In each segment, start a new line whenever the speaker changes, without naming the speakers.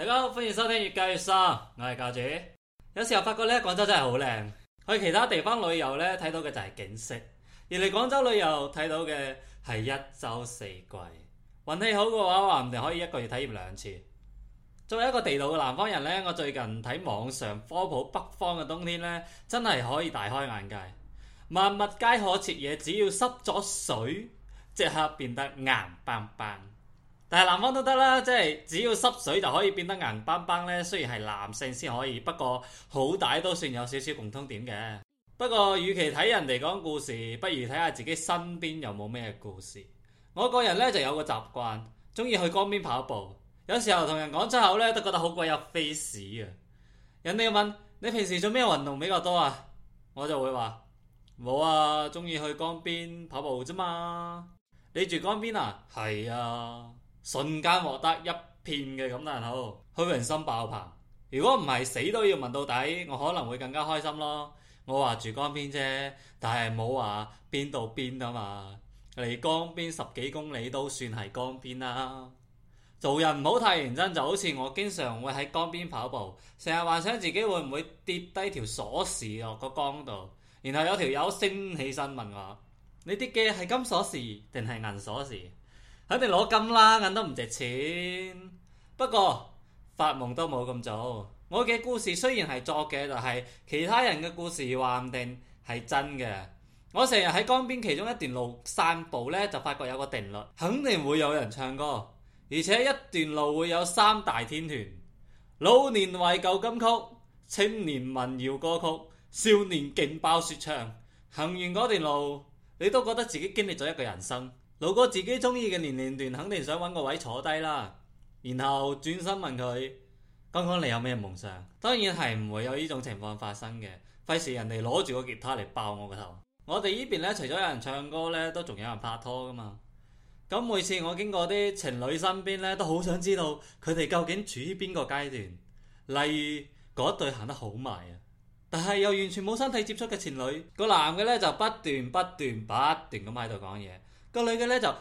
大家好，歡迎收聽越教越生，我係教主。有時候發覺咧，廣州真係好靚。去其他地方旅遊咧，睇到嘅就係景色；而嚟廣州旅遊睇到嘅係一週四季。運氣好嘅話，話唔定可以一個月體驗2次。作為一個地道嘅南方人咧，我最近睇網上科普北方嘅冬天咧，真係可以大開眼界。萬物皆可徹夜，只要濕咗水，即刻變得硬邦邦。但係南方都得啦，即係只要濕水就可以變得硬邦邦咧。雖然係男性先可以，不過好歹都算有少少共通點嘅。不過與其睇人哋講故事，不如睇下自己身邊有冇咩故事。我個人咧就有個習慣，中意去江邊跑步。有時候同人講出口咧，都覺得好鬼有 face 啊！人哋問你平時做咩運動比較多啊？我就會話冇啊，中意去江邊跑步啫嘛。你住江邊啊？係啊。瞬間獲得一片嘅感嘆號，虛榮心爆棚。如果唔係死都要問到底，我可能會更加開心咯。我話住江邊啫，但係冇話邊到邊啊嘛。離江邊10幾公里都算係江邊啦。做人唔好太認真，就好似我經常會喺江邊跑步，成日幻想自己會唔會跌低條鎖匙落個江度，然後有條友升起身問我：你跌嘅係金鎖匙定係銀鎖匙？肯定攞金啦，銀都唔值錢。不過發夢都冇咁早。我嘅故事雖然係作嘅，但係其他人嘅故事話唔定係真嘅。我成日喺江邊其中一段路散步呢，就發覺有個定律，肯定會有人唱歌，而且一段路會有3大天團：老年懷舊金曲、青年民謠歌曲、少年勁爆說唱。行完嗰段路，你都覺得自己經歷咗一個人生。路過自己中意嘅年齡段，肯定想揾個位坐低啦，然後轉身問佢：剛剛你有咩夢想？當然係唔會有呢種情況發生嘅，費事人哋攞住個吉他嚟爆我個頭。我哋呢邊呢，除咗有人唱歌呢，都仲有人拍拖噶嘛。咁每次我經過啲情侶身邊呢，都好想知道佢哋究竟處於邊個階段。例如嗰對行得好埋啊，但係又完全冇身體接觸嘅情侶，個男嘅呢，就不斷咁喺度講嘢。個女嘅咧就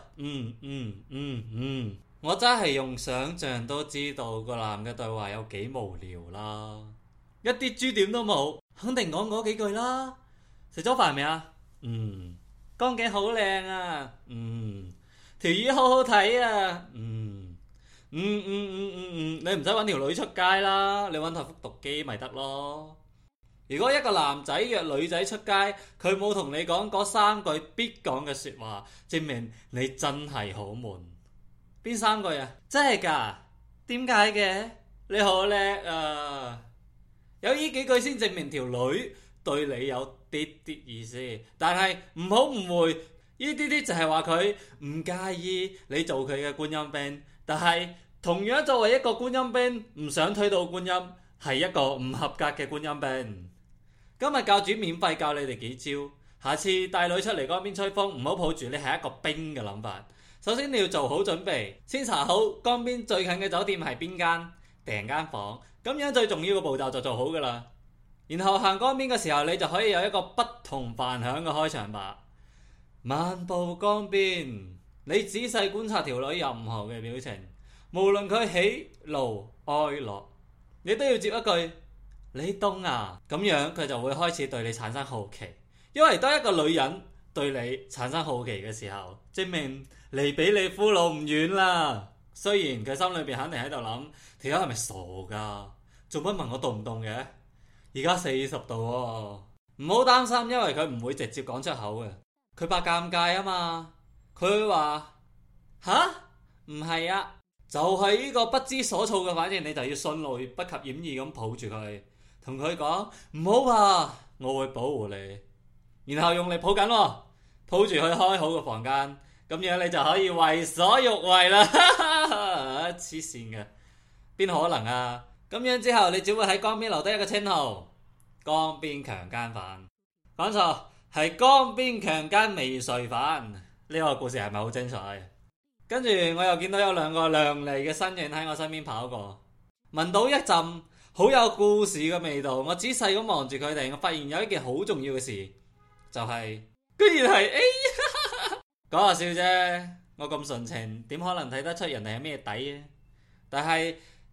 我真係用想象都知道個男嘅對話有幾無聊啦，一啲珠點都冇，肯定講嗰幾句啦。食咗飯未啊？江景好靚啊，條魚好好睇啊，你唔使搵條女出街啦，你搵台復讀機咪得咯。如果一個男仔約女仔出街，佢冇同你講嗰3句必講嘅說話，證明你真係好悶。邊3句啊？真係㗎？點解嘅？你好叻啊！有呢幾句先證明條女對你有啲意思。但係唔好誤會，呢啲就係話佢唔介意你做佢嘅觀音兵。但係同樣作為一個觀音兵，唔想推到觀音，係一個唔合格嘅觀音兵。今日教主免費教你哋幾招，下次帶女出嚟江邊吹風，唔好抱住你係一個兵嘅諗法。首先你要做好準備，先查好江邊最近嘅酒店係邊間，訂間房，咁樣最重要嘅步驟就做好噶啦。然後行江邊嘅時候，你就可以有一個不同凡響嘅開場白。漫步江邊，你仔細觀察條女任何嘅表情，無論佢喜怒哀樂，你都要接一句：你凍啊？咁樣佢就會開始對你產生好奇，因為當一個女人對你產生好奇嘅時候，證明離俾你俘虜唔遠啦。雖然佢心裏邊肯定喺度諗：條友係咪傻噶？做乜問我凍唔凍嘅？而家40度喎。唔好擔心，因為佢唔會直接講出口嘅，佢怕尷尬啊嘛。佢會話：吓？唔係啊，就係呢個不知所措嘅反應，你就要迅雷不及掩耳咁抱住佢。同佢講唔好怕，我會保護你，然後用力抱緊，抱住佢開好個房間，咁樣你就可以為所欲為啦。黐線嘅，邊可能啊？咁樣之後你只會喺江邊留低一個稱號：江邊強姦犯。講錯，係江邊強姦未遂犯。呢個故事係咪好精彩？跟住我又見到有2個亮麗嘅身影喺我身邊跑過，聞到一陣好有故事嘅味道，我仔細咁望住佢哋，我發現有一件好重要嘅事，就係居然係講下笑啫，我咁純情，點可能睇得出人哋係咩底啊？但係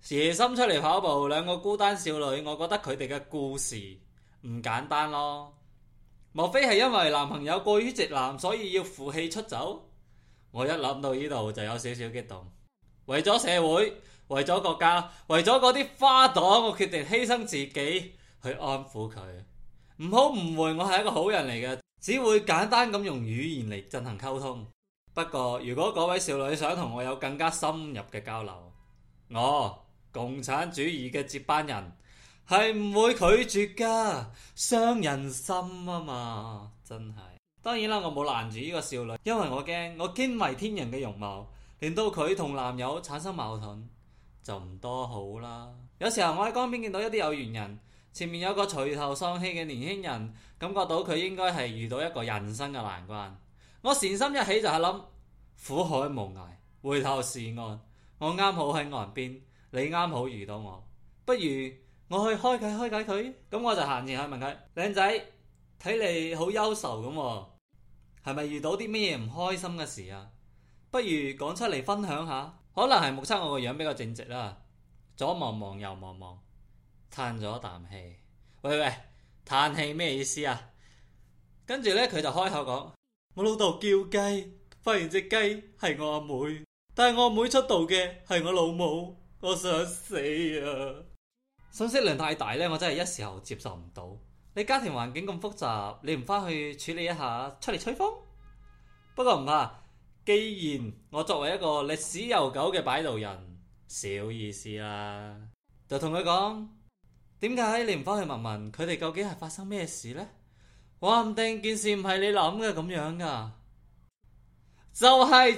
夜深出嚟跑步，兩個孤單少女，我覺得佢哋嘅故事唔簡單咯。莫非係因為男朋友過於直男，所以要負氣出走？我一諗到呢度就有少少激動。為咗社會，為咗國家，為咗嗰啲花朵，我決定犧牲自己去安撫佢。唔好誤會，我係一個好人嚟嘅，只會簡單咁用語言嚟進行溝通。不過如果嗰位少女想同我有更加深入嘅交流，我共產主義嘅接班人係唔會拒絕噶，傷人心啊嘛，真係。當然啦，我冇攔住呢個少女，因為我驚我驚為天人嘅容貌令到佢同男友產生矛盾，就唔多好啦。有時候我喺江邊見到一啲有緣人，前面有個垂頭喪氣嘅年輕人，感覺到佢應該係遇到一個人生嘅難關。我善心一起就係諗，苦海無涯，回頭是岸。我啱好喺岸邊，你啱好遇到我，不如我去開解佢。咁我就行前去問佢：靚仔，睇你好憂愁咁喎，係咪遇到啲咩唔開心嘅事啊？不如講出嚟分享下。可能係目測我個樣比較正直啦，左望望右望望，嘆咗啖氣。喂，嘆氣咩意思啊？跟住呢，佢就開口講：我老豆叫雞，發現隻雞係我阿妹，但係我阿妹出道嘅係我老母，我想死啊！信息量太大呢，我真係一時候接受唔到。你家庭環境咁複雜，你唔返去處理一下，出嚟吹風？不過唔怕，既然我作為一個歷史悠久嘅擺渡人，小意思啦，就同佢講：點解你唔返去問問佢哋究竟係發生咩事呢？話唔定件事唔係你諗嘅咁樣噶。就係，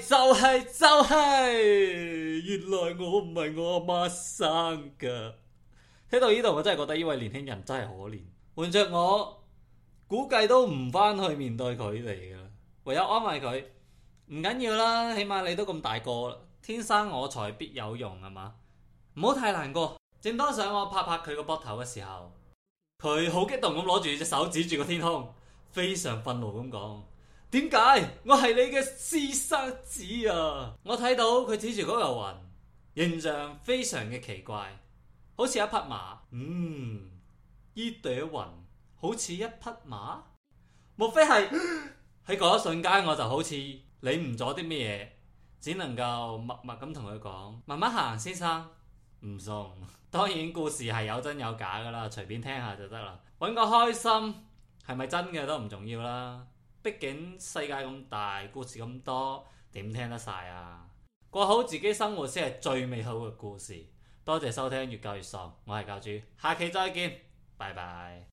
原來我唔係我阿媽生噶。聽到呢度，我真係覺得呢位年輕人真係可憐。換着我，估計都唔返去面對佢哋噶，唯有安慰佢：唔緊要啦，起碼你都咁大個啦，天生我材必有用係嘛？唔好太難過。正當想我拍拍佢個膊頭嘅時候，佢好激動咁攞住隻手指住個天空，非常憤怒咁講：點解我係你嘅私生子啊？我睇到佢指住嗰嚿雲，形象非常嘅奇怪，好似一匹馬。依朵雲好似一匹馬，莫非係？喺嗰一瞬間，我就好似領悟咗啲咩嘢，只能夠默默咁同佢講：慢慢行，先生，唔送。當然故事係有真有假噶啦，隨便聽下就得啦，搵個開心，係咪真嘅都唔重要啦。畢竟世界咁大，故事咁多，點聽得晒啊？過好自己生活先係最美好嘅故事。多謝收聽越教越喪，我係教主，下期再見，拜拜。